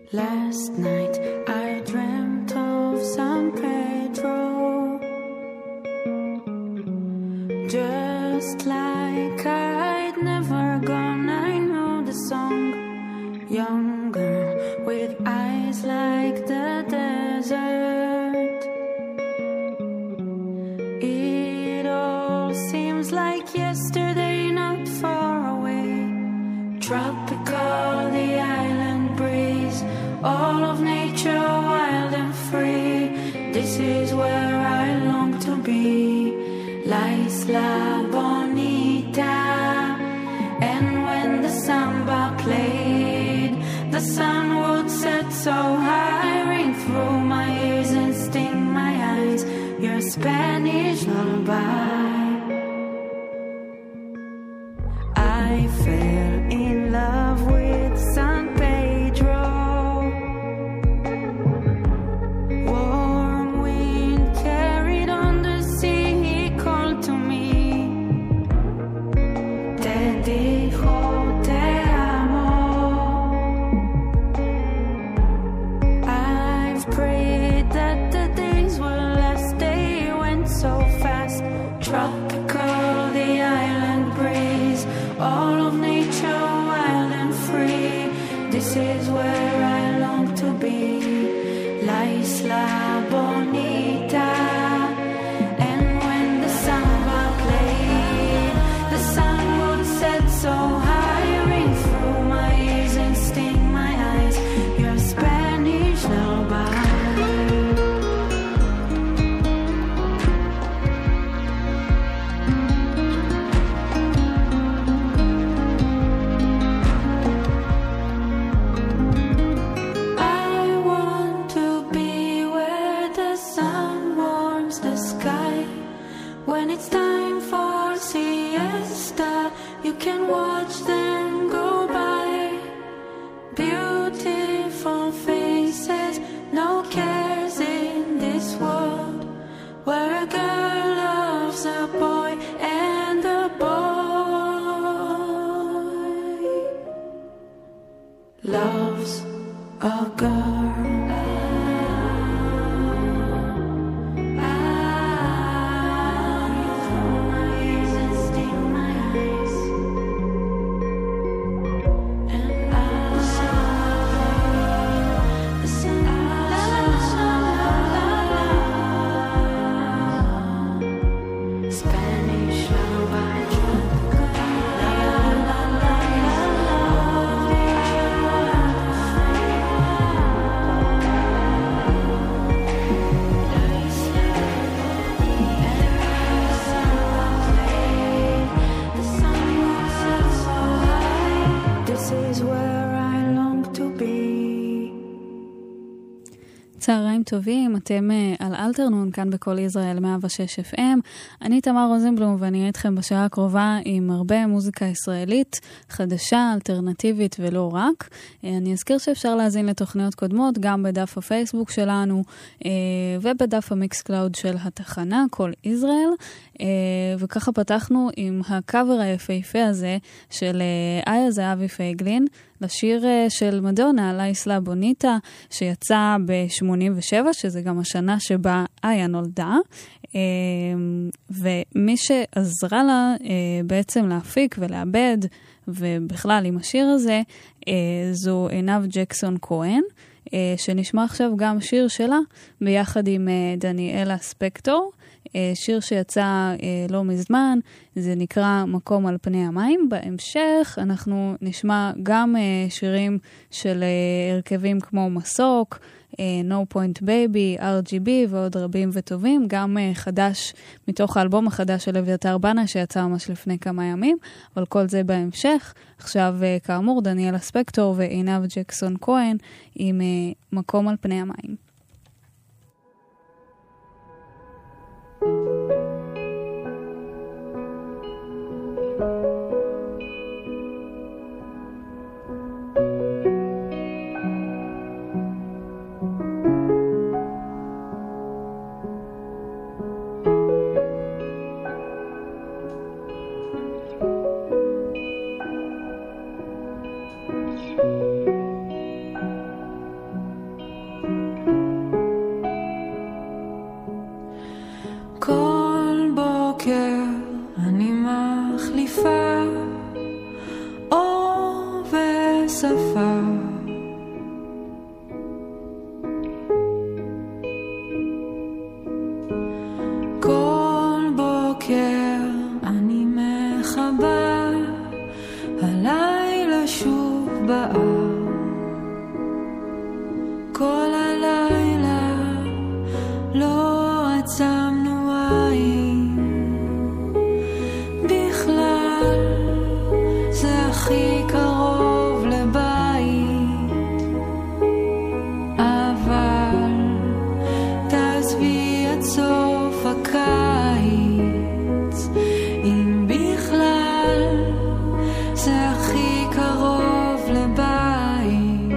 Last night I dreamt of San Pedro, just like I'd never gone. I know the song, younger with eyes like the desert. It all seems like yesterday, not far away. Tropical, the island breeze, all of nature wild and free. This is where I long to be, La Isla Bonita. And when the samba played, the sun would set so high, ring through my ears and sting my eyes, your Spanish lullaby. I fell in love with San Pedro. Warm wind carried on the sea, he called to me. Te dijo te amo. I've prayed that the days will last, they went so fast. Tropical, the island breeze, all of nature wild and free. This is where I long to be, La Isla Bonita. And when the samba played, the sun would set so high, ring through my ears and sting my eyes, your Spanish lullaby. When it's time for siesta, you can watch them go by. Beautiful faces, no cares in this world, where a girl loves a boy and a boy loves a girl. צהריים טובים, אתם על אלתרנון, כאן בכל ישראל 106 FM. אני תמר רוזנבלום ואני אהיה איתכם בשעה הקרובה עם הרבה מוזיקה ישראלית, חדשה, אלטרנטיבית ולא רק. אני אזכיר שאפשר להזין לתוכניות קודמות גם בדף הפייסבוק שלנו ובדף המיקס קלאוד של התחנה, כל ישראל. וככה פתחנו עם הקאבר היפהפה הזה של איה זהבי פייגלין, לשיר של מדונה, לה איסלה בוניטה, שיצא ב-87, שזה גם השנה שבה איה נולדה. ומי שעזרה לה בעצם להפיק ולעבד, ובכלל עם השיר הזה, זו עינב ג'קסון כהן, שנשמע עכשיו גם שיר שלה, ביחד עם דניאלה ספקטור, שיר שיצא לא מזמן, זה נקרא מקום על פני המים. בהמשך אנחנו נשמע גם שירים של הרכבים כמו מסוק, No Point Baby, RGB ועוד רבים וטובים, גם חדש מתוך האלבום החדש של אביתר בנה שיצא ממש לפני כמה ימים, אבל כל זה בהמשך. עכשיו כאמור דניאלה ספקטור ועינב ג'קסון כהן עם מקום על פני המים. כל הלילה לא עצמנו עין, בכלל זה הכי קרוב לבית, אבל תעזבי עד סוף הקיץ, אם בכלל זה הכי קרוב לבית,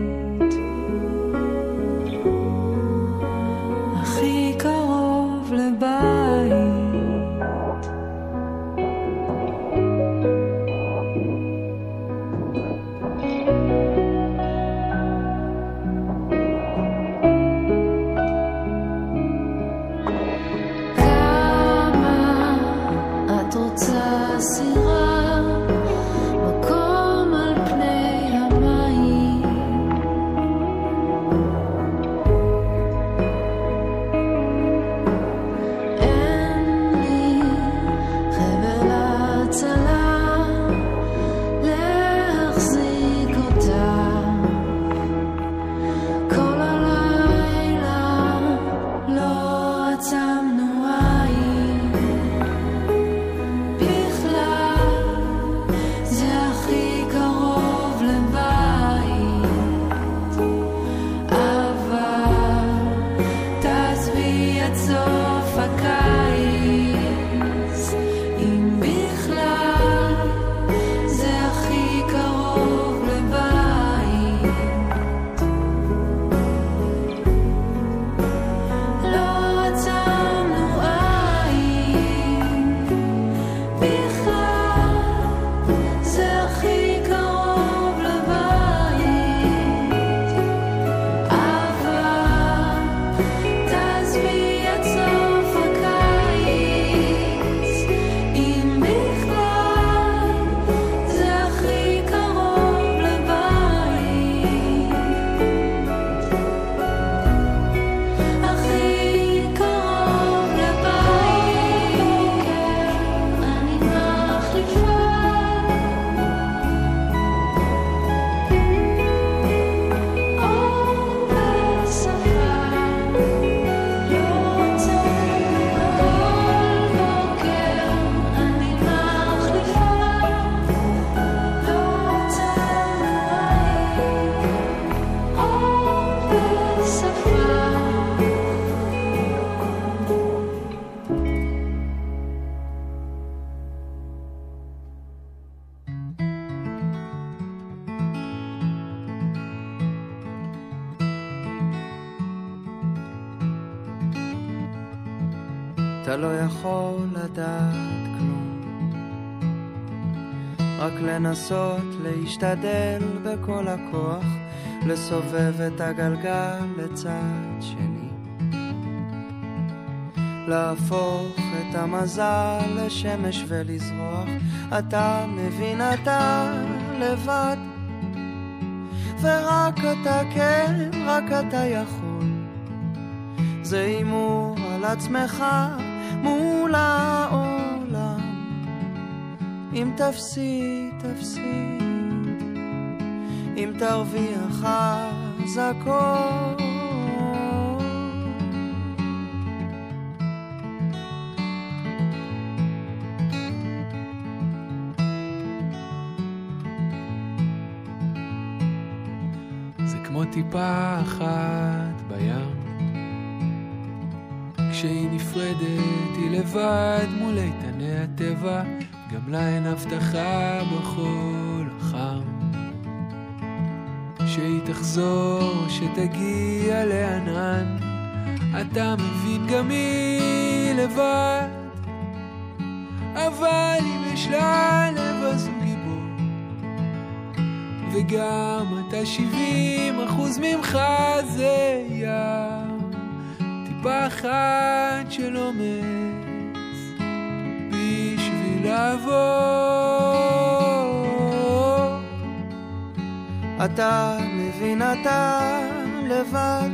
הכי קרוב לבית. כמה את רוצה סירה, מקום על פני המים, אין לי חבל הצלה להחזיק אותה, כל הלילה לא עצמנו עין, בכלל זה הכי קרוב לבית, אבל תעזבי עד סוף הקיץ, אם בכלל זה הכי קרוב לבית, לא עצמנו עין, בכלל זה הכי קרוב לבית, אבל תעזבי עד סוף הקיץ, אם בכלל זה הכי קרוב לבית, הכי קרוב לבית. אני מחליפה אור ושפה, לא רוצה כל בוקר, אני מחליפה, לא רוצה אור ושפה. אתה לא יכול לדעת כלום, רק לנסות להשתדל בכל הכוח, לסובב את הגלגל לצד שני, להפוך את המזל לשמש ולזרוח. אתה מבין, אתה לבד, ורק אתה, כן, רק אתה יכול. זה אימור על עצמך מול העולם, אם תפסיד, תפסיד, אם תרוויח אז הכל. זה כמו טיפה אחת בים, כשהיא נפרדת היא לבד מול איתני הטבע, גם לה אין הבטחה בחול החם, שהיא תחזור, שתגיע לענן. אתה מבין, גם היא לבד, אבל אם יש לה לב אז הוא גיבור, וגם אתה 70% ממך זה ים, טיפה אחת של אומץ בשביל לעבור. אתה מבין, אתה לבד,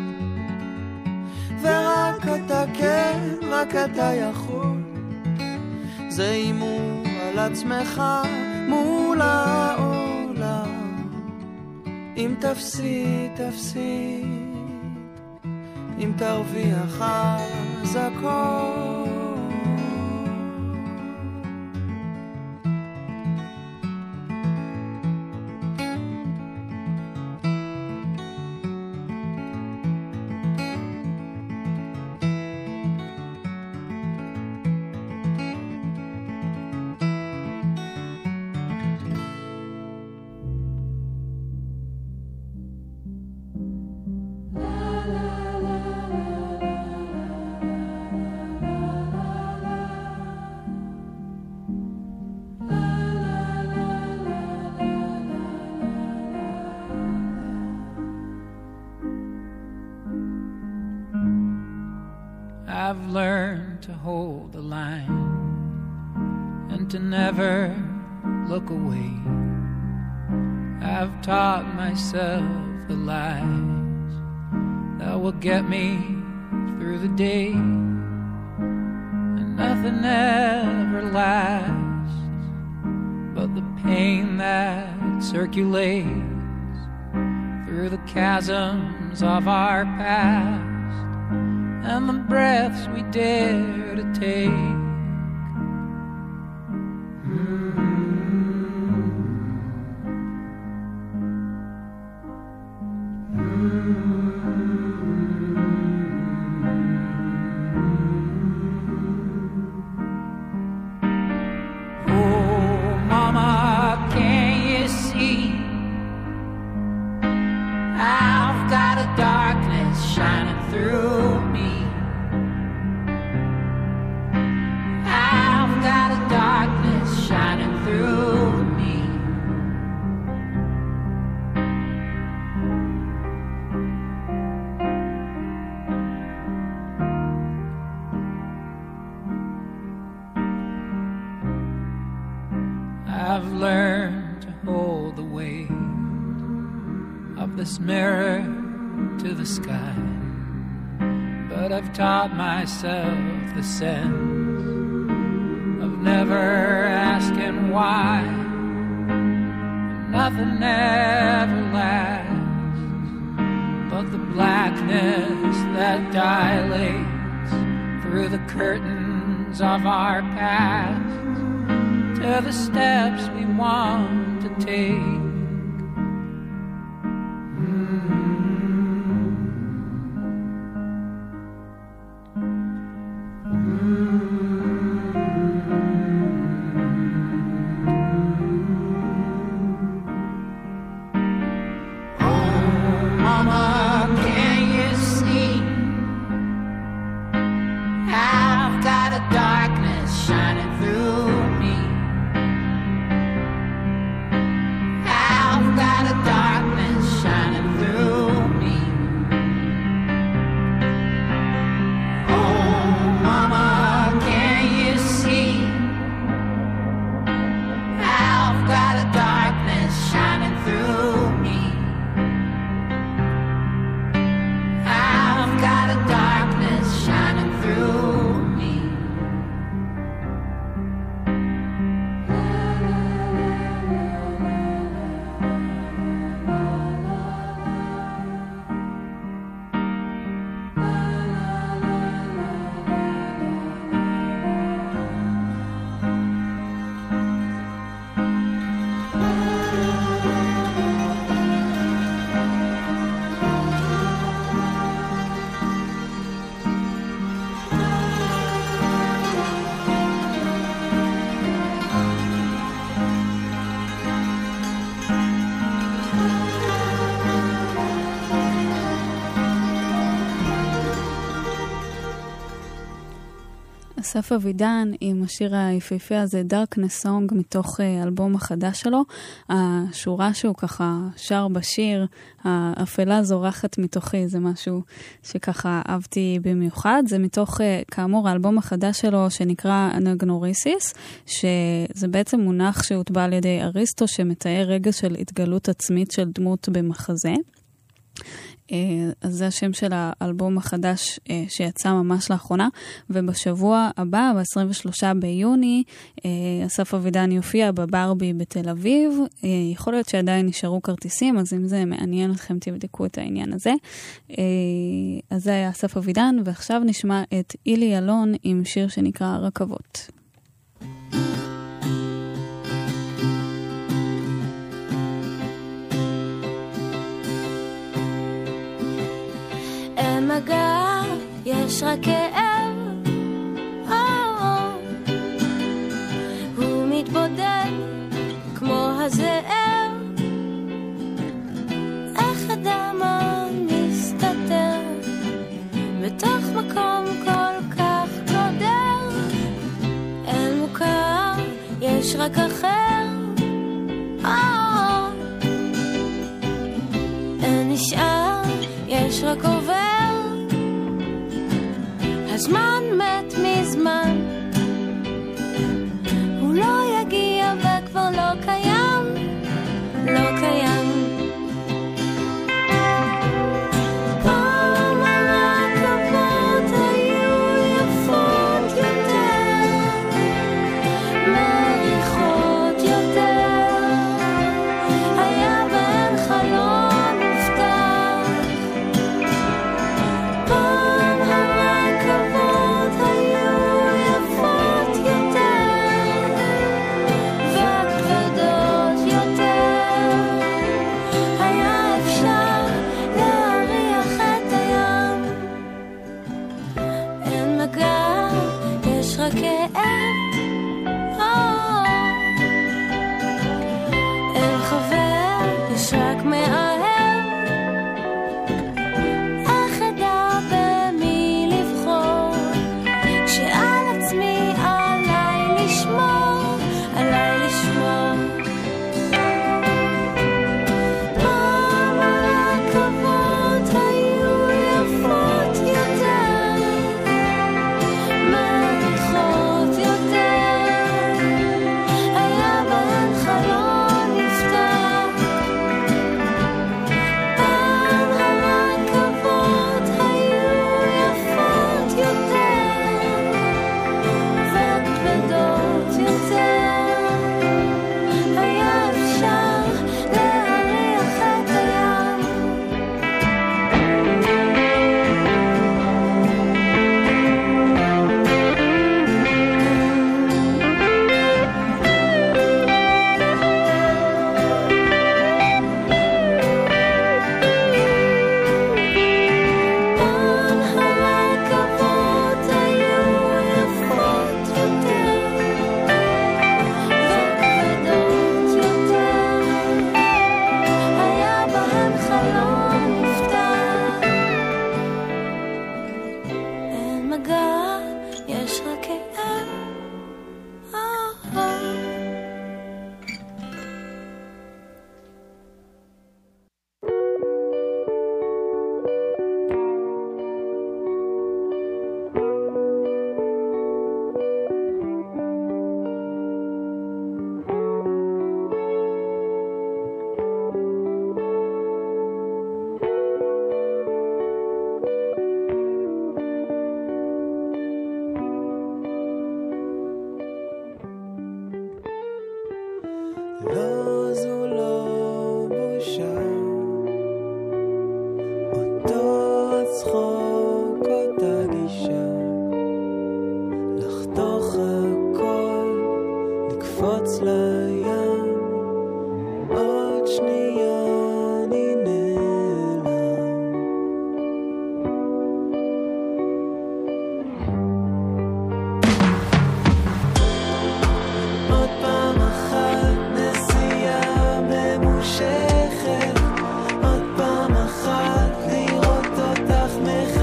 ורק אתה, כן, רק אתה יכול. זה אימור על עצמך מול העולם, אם תפסיד, תפסיד, אם תרוויח אז הכל. I've learned to hold the line and to never look away. I've taught myself the lies that will get me through the day, and nothing ever lasts but the pain that circulates through the chasms of our past and the breaths we dare to take. Oh, Mama, can you see? I've got a darkness shining through me. I've got a darkness shining through me. I've learned to hold the weight of this mirror to the sky, but I've taught myself the sense of never asking why. Nothing ever lasts but the blackness that dilates through the curtains of our past to the steps we want to take. אסף אבידן עם השיר היפהפה הזה, Darkness Song, מתוך אלבום החדש שלו. השורה שהוא ככה שר בשיר, האפלה זורחת מתוכי, זה משהו שככה אהבתי במיוחד. זה מתוך, כאמור, האלבום החדש שלו שנקרא אנגנוריסיס, שזה בעצם מונח שהוטבע על ידי אריסטו, שמתאר רגע של התגלות עצמית של דמות במחזה. אז זה השם של האלבום החדש שיצא ממש לאחרונה, ובשבוע הבא, ב-23 ביוני, אסף אבידן יופיע בברבי בתל אביב. יכול להיות שעדיין נשארו כרטיסים, אז אם זה מעניין אתכם תבדקו את העניין הזה. אז זה היה אסף אבידן, ועכשיו נשמע את אילי אלון עם שיר שנקרא רכבות. אין מגע, יש רק כאב, הוא מתבודד כמו הזאב, איך אדם מסתתר בתוך מקום כל כך גודר. אין מוכר, יש רק אחר, אין נשאר, יש רק עובר. הזמן מת מזמן, הוא לא יגיע וכבר לא קיים, לא קיים. פעם הרכבות היו יפות יותר, מריחות יותר, היה בהן חלון מובטח. פעם הרכבות היו יפות יותר וכבדות יותר, היה אפשר להריח את הים. אין מגע, יש רק כאב, אין חבר, יש רק מאהב. איך אדע במי לבחור, כשעל עצמי עליי לשמור, עליי לשמור. פעם הרכבות היו יפות יותר, מריחות יותר, היה בהן חלון מובטח. פעם הרכבות היו יפות יותר וכבדות יותר, היה אפשר להריח את הים. פעם הרכבות היו יפות יותר וכבדות יותר, היה בהן חלון מובטח. אין מגע, יש רק כאב. לא, זו לא בושה, אותו הצחוק, אותה גישה, לחתוך הכל, לקפוץ לים, עוד שנייה אני נעלם. עוד פעם אחת נסיעה ממושכת, עוד פעם אחת לראות אותך מחייכת.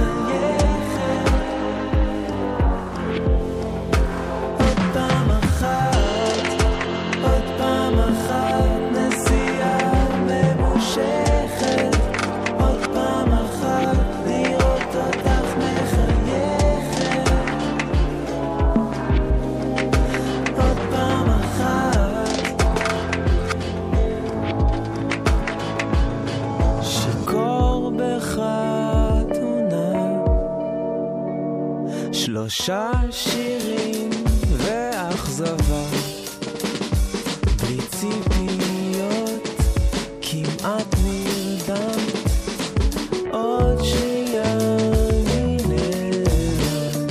3 שירים ואכזבה, בלי ציפיות, כמעט נרדמת, עוד שנייה אני נעלם.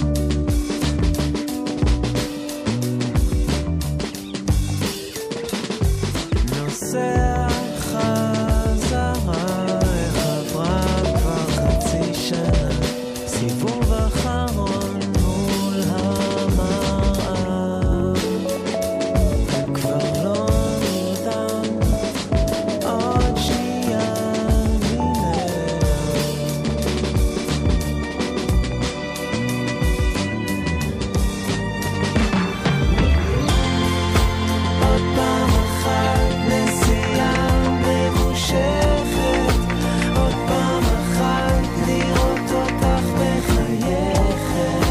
נוסע חזרה, איך עברה כבר חצי שנה, סיבוב אחרון מול המראה, כבר לא נרדם, עוד שנייה אני נעלם. עוד פעם אחת נסיעה ממושכת, עוד פעם אחת לראות אותך מחייכת,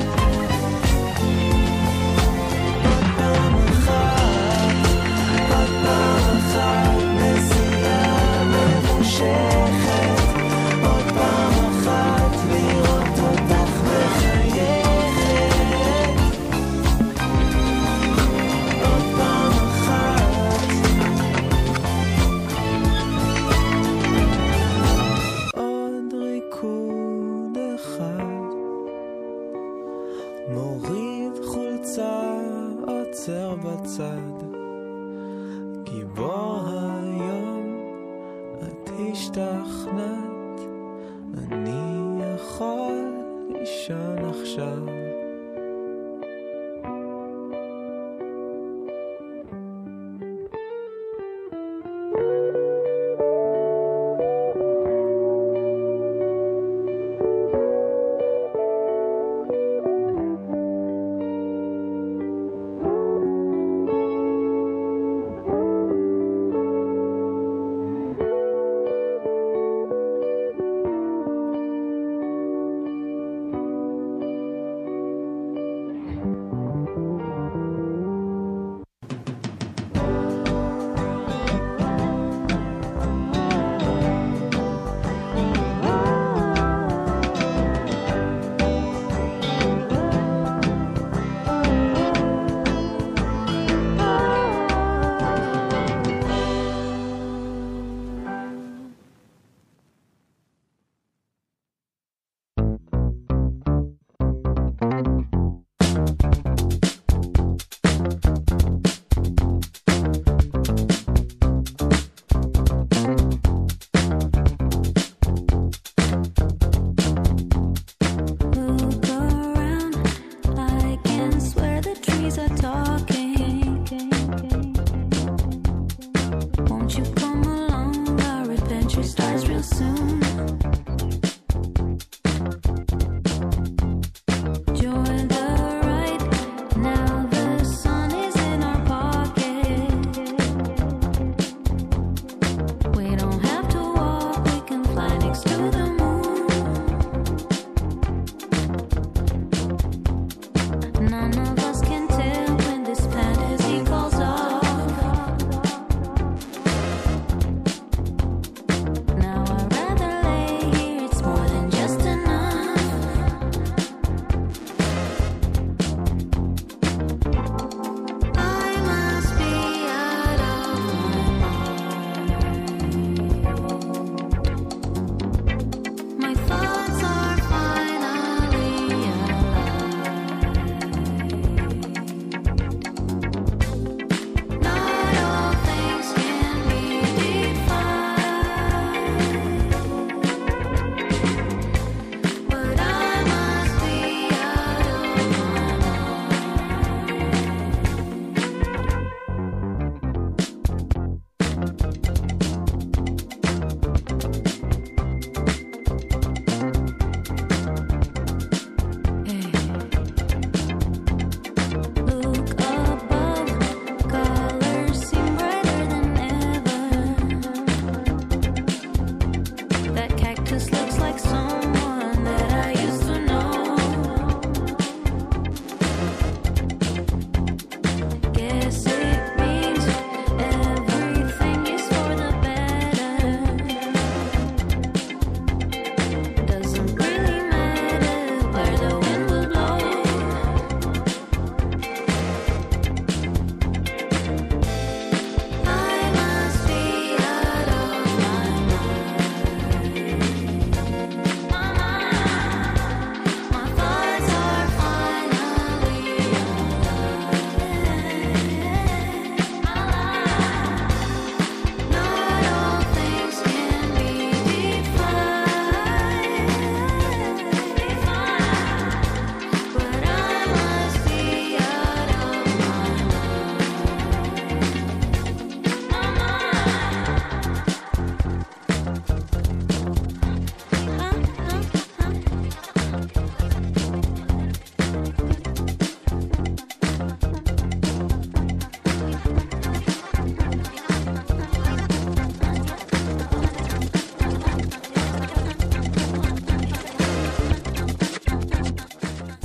עוד פעם אחת נסיעה ממושכת, עוד פעם אחת לראות אותך מחייכת, עוד פעם אחת, עוד ריקוד אחד, מוריד חולצה, עוצר בצד, גיבור היום, את השתכנעת, אני יכול לישון עכשיו.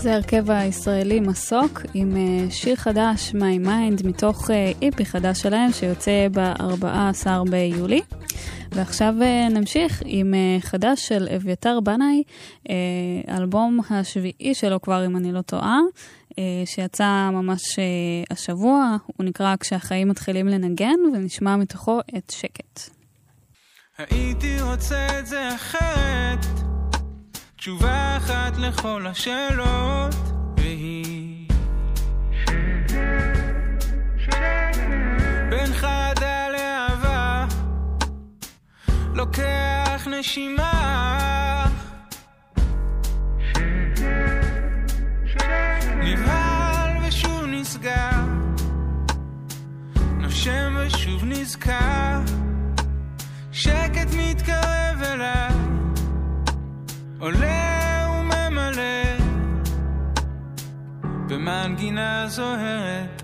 זה הרכב הישראלי מסוק עם שיר חדש My Mind מתוך איפי חדש שלהם שיוצא ב-14 ביולי. ועכשיו נמשיך עם חדש של אביתר בנאי, אלבום השביעי שלו כבר אם אני לא טועה, שיצא ממש השבוע, הוא נקרא כשהחיים מתחילים לנגן ונשמע מתוכו את שקט. הייתי רוצה את זה אחרת, תשובה אחת לכל השאלות, והיא בין חדה לאהבה, לוקח נשימה, נבהל ושוב נסגר, נושם ושוב נזכר, שקט מתקרב אליי, עולה וממלא במנגינה זוהרת.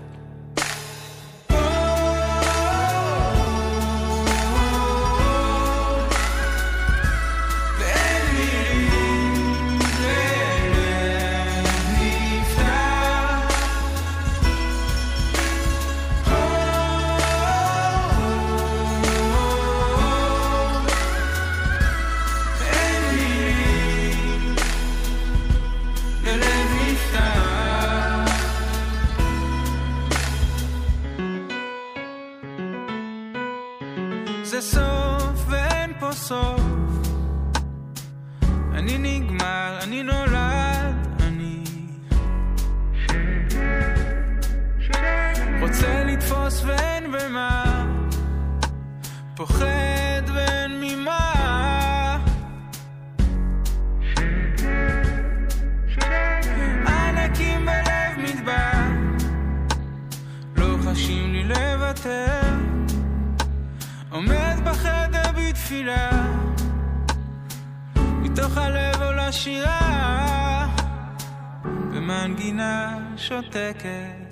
זה סוף ואין פה סוף, אני נגמר, אני נולד, אני רוצה לתפוס ואין במה, פוחד ואין ממה, ענקים בלב מדבר, לא חשים לי לוותר, עומד בחדר בתפילה, מתוך הלב עולה שירה, במנגינה שותקת.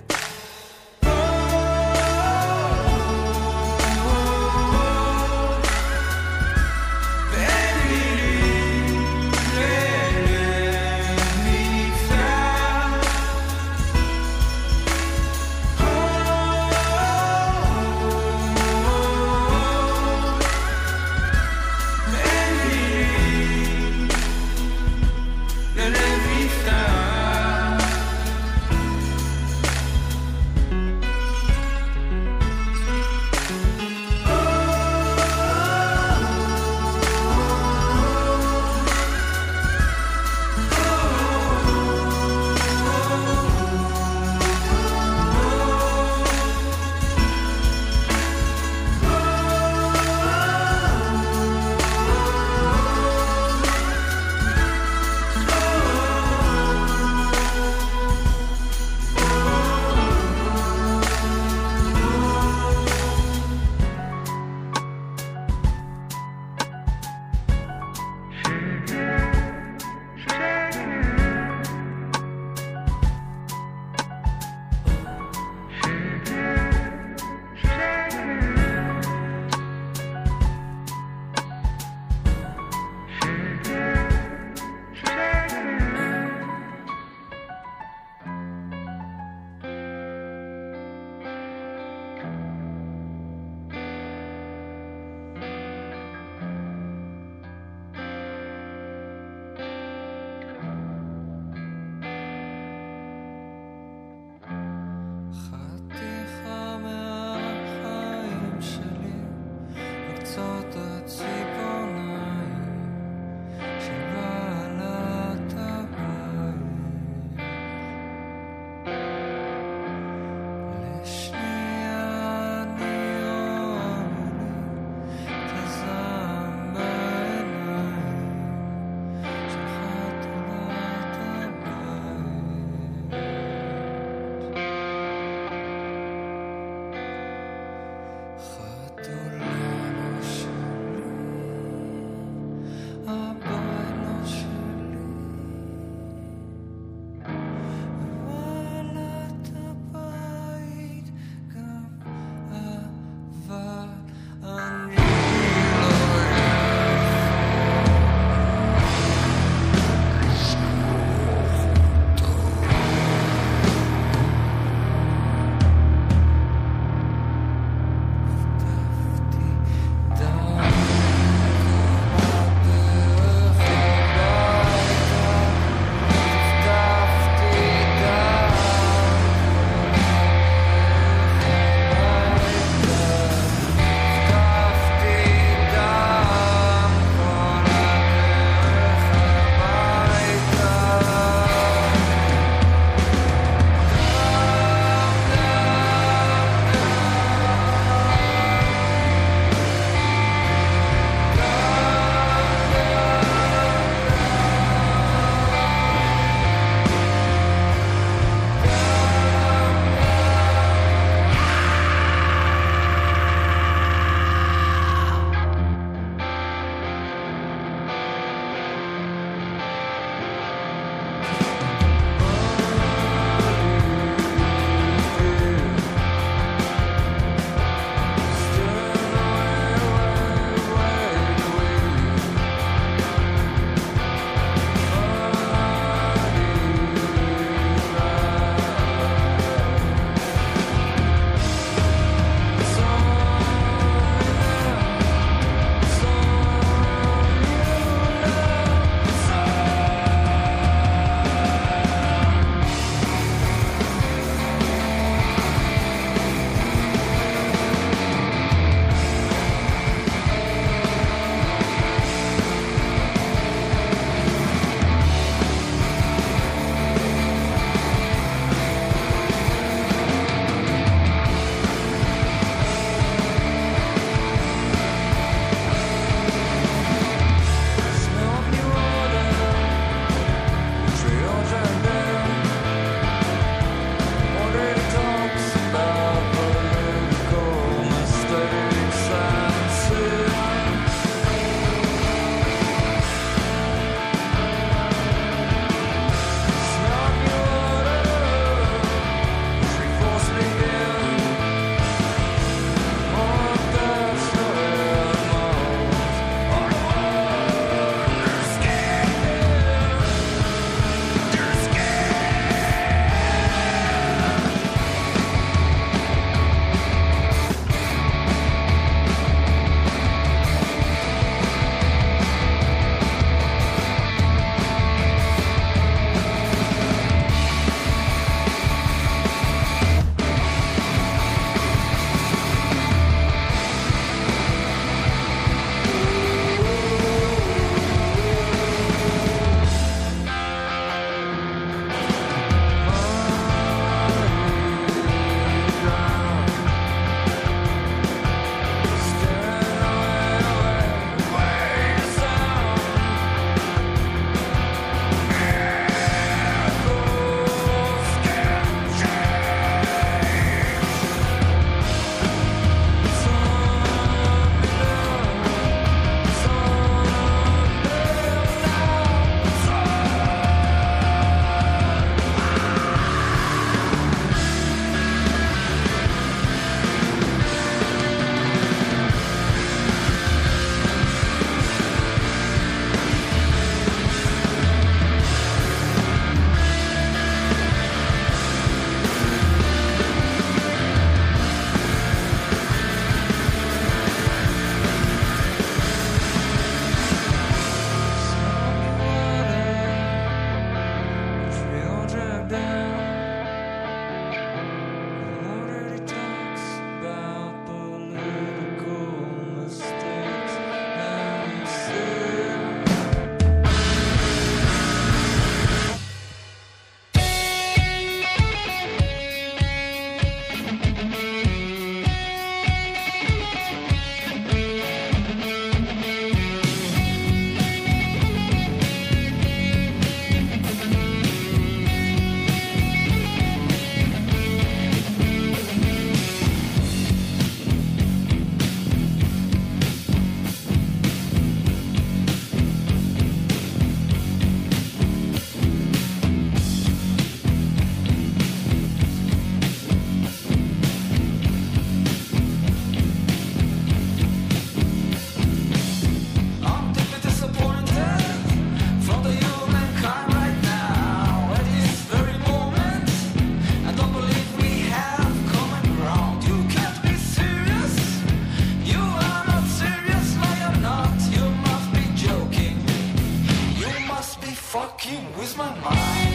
fucking with my mind.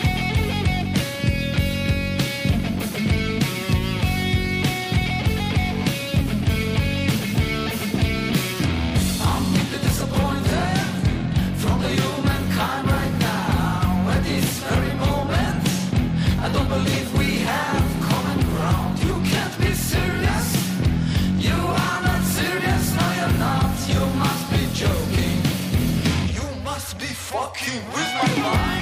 I'm deeply disappointed from the humankind right now. At this very moment, I don't believe we have common ground. You can't be serious. You are not serious. No, you're not. You must be joking. You must be fucking with my mind.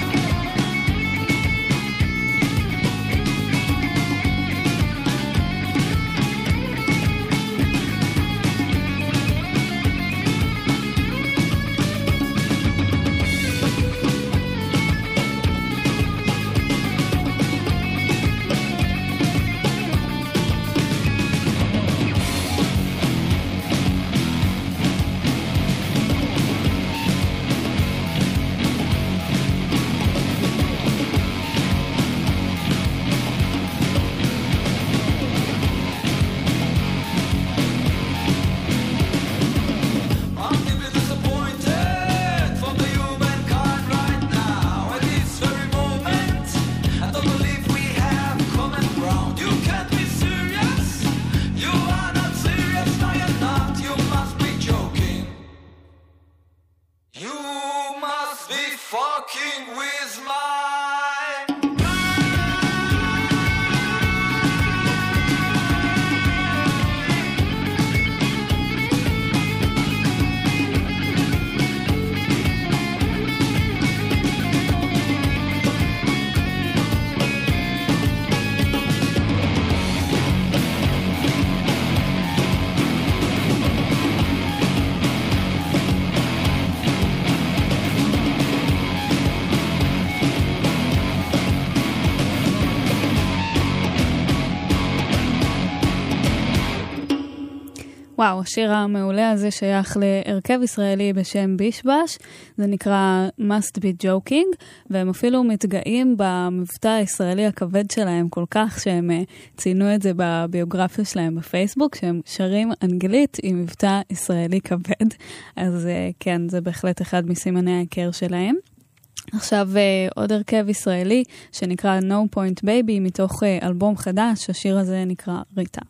וואו, השיר המעולה הזה שייך להרכב ישראלי בשם בישבש, זה נקרא Must Be Joking, והם אפילו מתגאים במבטא הישראלי הכבד שלהם כל כך, שהם ציינו את זה בביוגרפיה שלהם בפייסבוק, שהם שרים אנגלית עם מבטא ישראלי כבד, אז כן, זה בהחלט אחד מסימני ההיכר שלהם. עכשיו עוד הרכב ישראלי שנקרא No Point Baby מתוך אלבום חדש, השיר הזה נקרא ריטה.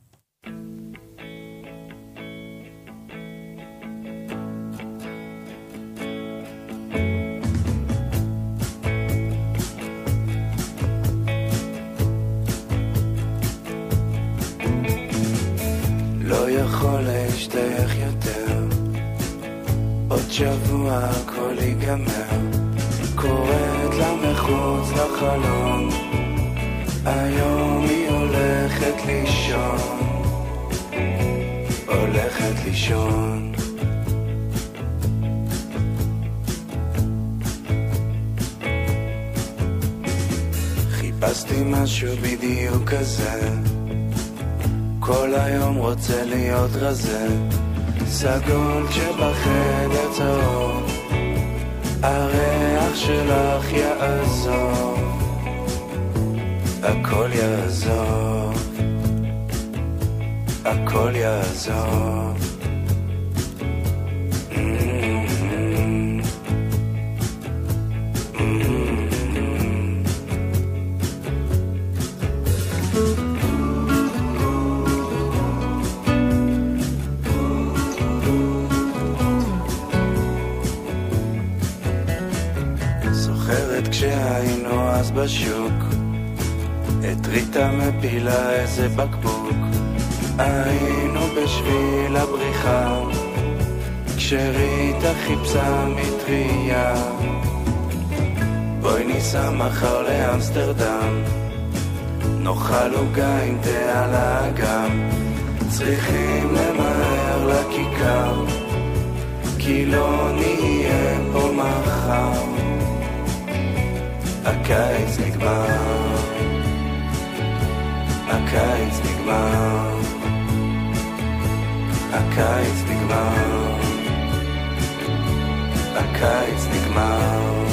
לא יכול להשתייך יותר, עוד שבוע הכל ייגמר, קוראת לה מחוץ לחלון, היום היא הולכת לישון, הולכת לישון. חיפשתי משהו בדיוק כזה, כל היום רוצה להיות רזה, סגול כשבחדר צהוב, הריח שלך יעזור, הכל יעזור, הכל יעזור. כשהיינו אז בשוק, את ריטה מפילה איזה בקבוק, היינו בשביל הבריחה, כשריטה חיפשה מטריה, בואי ניסע מחר לאמסטרדם, נאכל עוגה עם תה על האגם, צריכים למהר לכיכר, כי לא נהיה פה מחר. הקיץ נגמר, הקיץ נגמר, הקיץ נגמר, הקיץ נגמר,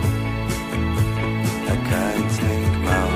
הקיץ נגמר.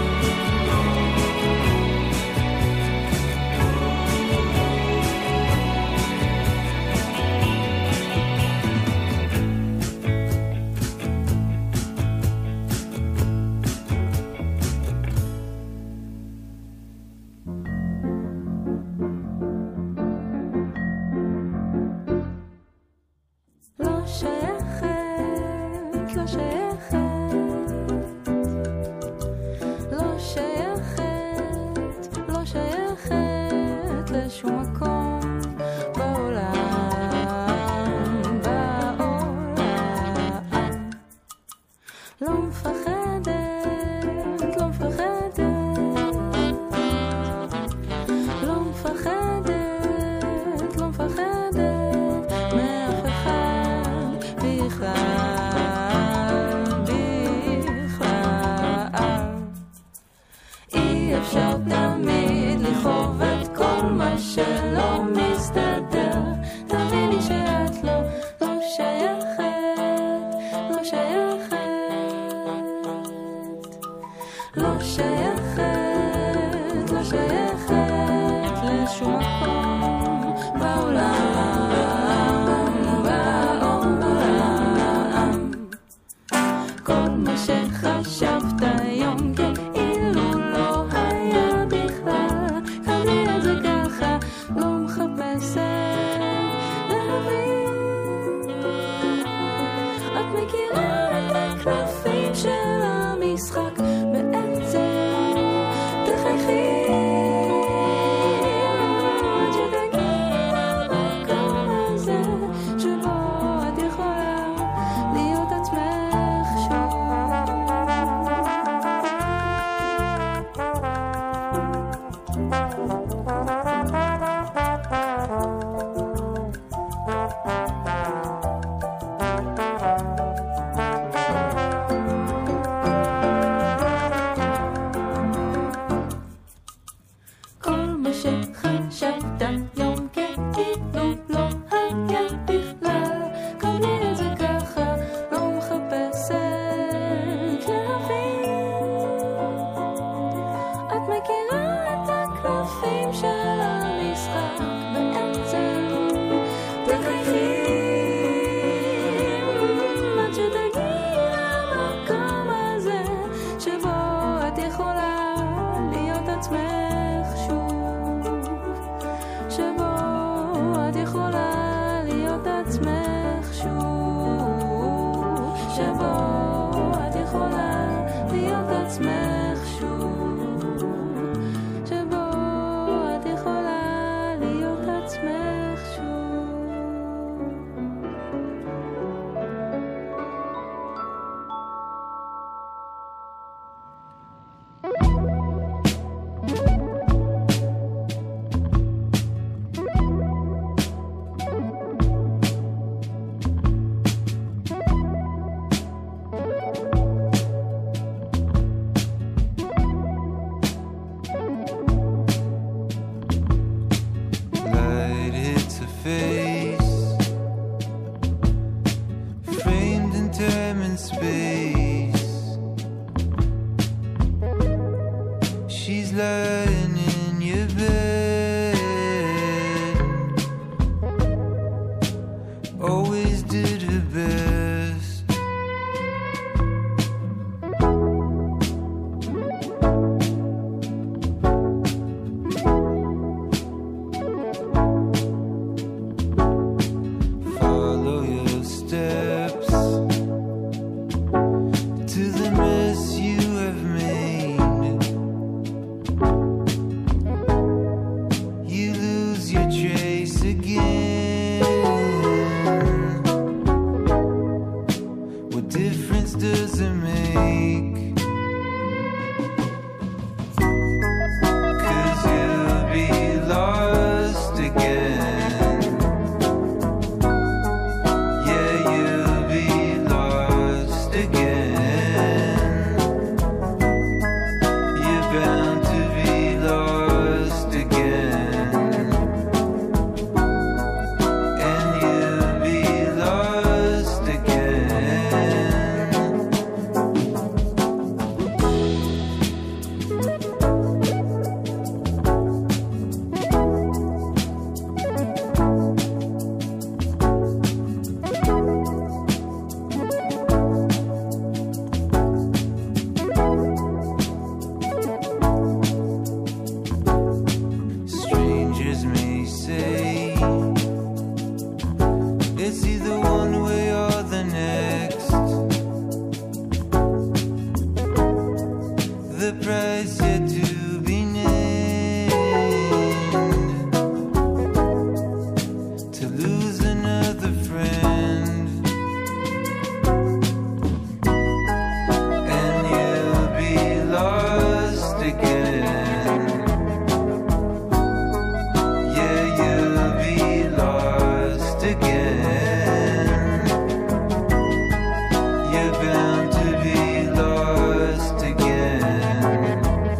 you're bound to be lost again.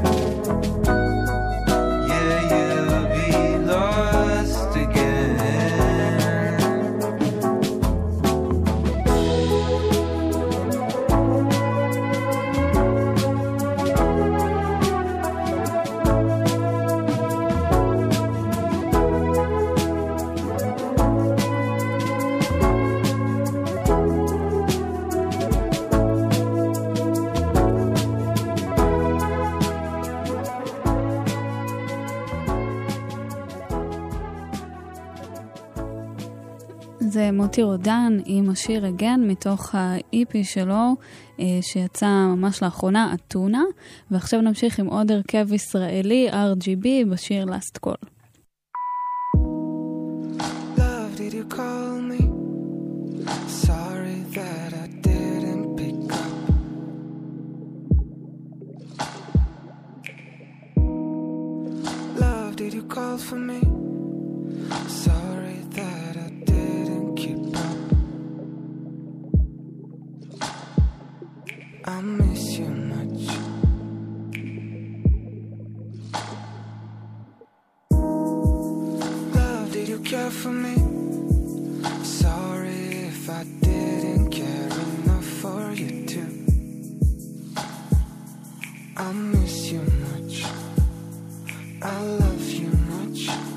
Yeah, you'll be lost again. זה מוטי רודן עם השיר הגן מתוך ה-EP שלו שיצא ממש לאחרונה, אתונה, ועכשיו נמשיך עם עוד הרכב ישראלי, RGB, בשיר Last Call. Love, did you call me? Sorry that I didn't pick up. Love, did you call for me? Sorry that I didn't keep up. I miss you much. Love, did you care for me? Sorry if I didn't care enough for you too. I miss you much. I love you much.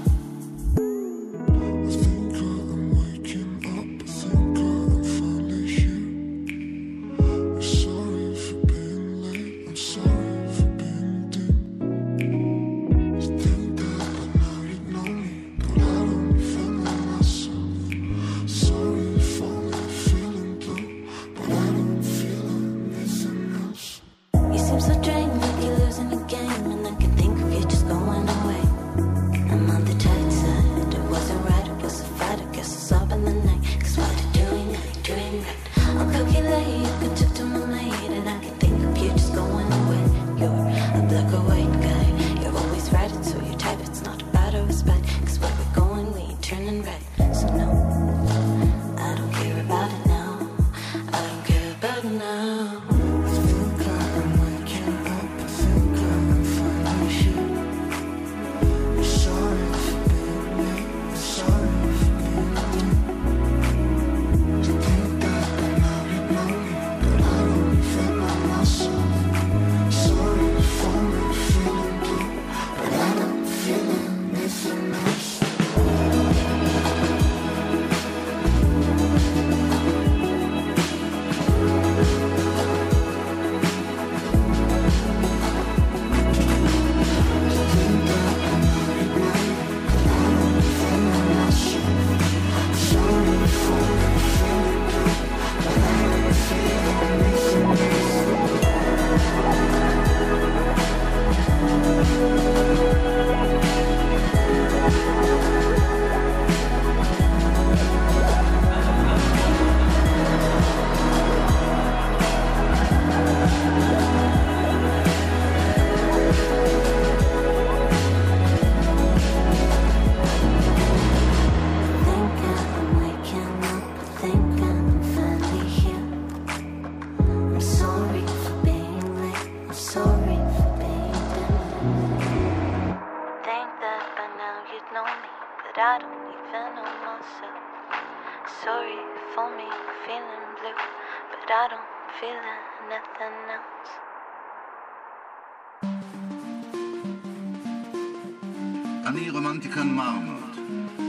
אני רומנטיקן מר מאוד.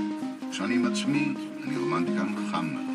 כשאני עם עצמי, אני רומנטיקן חם מאוד.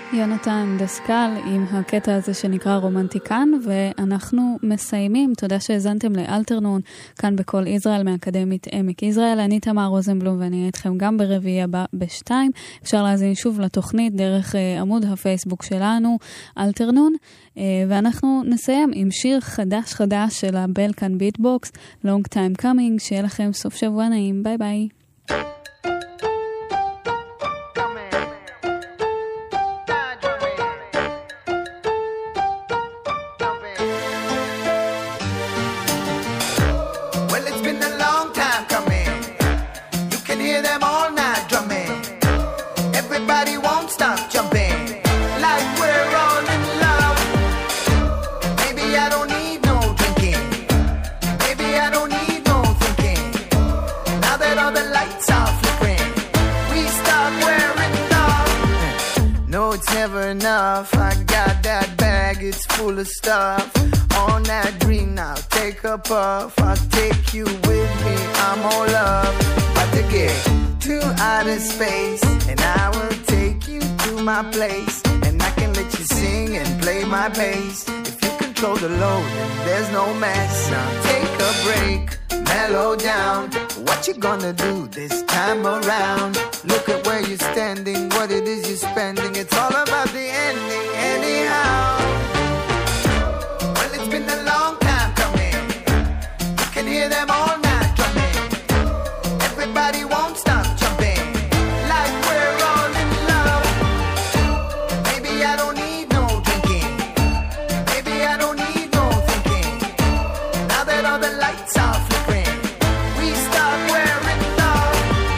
יונתן דסקל עם הקטע הזה שנקרא רומנטיקן, ואנחנו מסיימים. תודה שהזנתם לאלתרנון כאן בכל ישראל מאקדמית עמק יזרעאל. אני תמר רוזנבלום ואני אהיה איתכם גם ברביעי הבא ב-2. אפשר להזין שוב לתוכנית דרך עמוד הפייסבוק שלנו אלתרנון, ואנחנו נסיים עם שיר חדש של הבלקן ביטבוקס, Long Time Coming. שיהיה לכם סוף שבוע נעים, ביי ביי. Enough, I got that bag, it's full of stuff. On that green now, take a puff. I'll take you with me, I'm all up. About to get to outer space, and I will take you to my place. And I can let you sing and play my bass. If you control the load, then there's no mess. Now take a break, mellow down. What you gonna do this time around? Look at where you're standing, what it is you're spending. It's all about the ending anyhow. Well, it's been a long time coming. You can hear them all night drumming. Everybody won't stop jumping, like we're all in love. Maybe I don't need no drinking. Maybe I don't need no thinking. Now that all the lights are flickering, we start wearing love.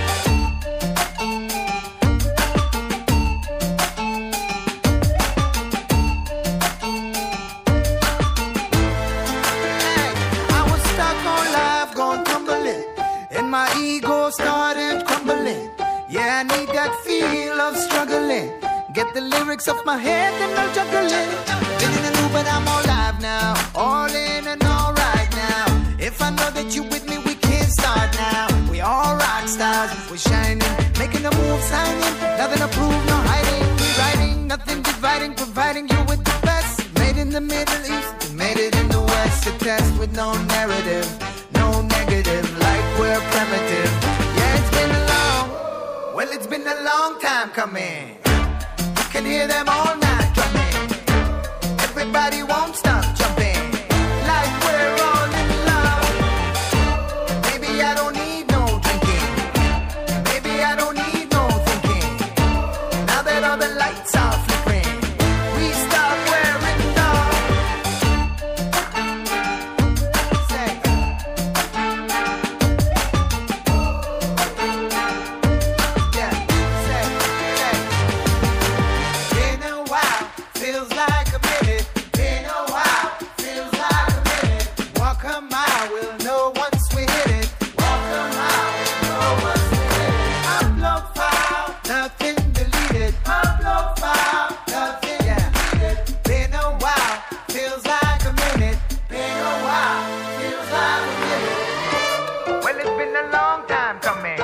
Hey, I was stuck on life, gone tumbling, and my ego started crumbling. Yeah, I need that feel of struggling. Get the lyrics off my head and I'll juggle it. Been in a loop but I'm all live now, all in and all right now. If I know that you with me, we can start now. We all rock stars, we're shining, making a move, signing. Nothing to prove, no hiding. We writing, nothing dividing, providing you with the best. Made in the Middle East, we made it in the West. A test with no narrative, no negative, like we're primitive. Yeah, it's been a long, well, it's been a long time coming. You can hear them all night drumming. Everybody won't stop jumping, like we're all in love. Maybe I don't need no drinking. Maybe I don't need no thinking. Now that all the lights are flickering, we start wearing love. Say, yeah, say. Been a while, feels like a minute. Been a while, feels like a minute. Walk a mile, we'll know once we hit it. Walk a mile, we'll know once we hit it. Upload file, nothing deleted. Upload file, nothing deleted. Been a while, feels like a minute. Been a while, feels like a minute. Well, it's been a long time coming.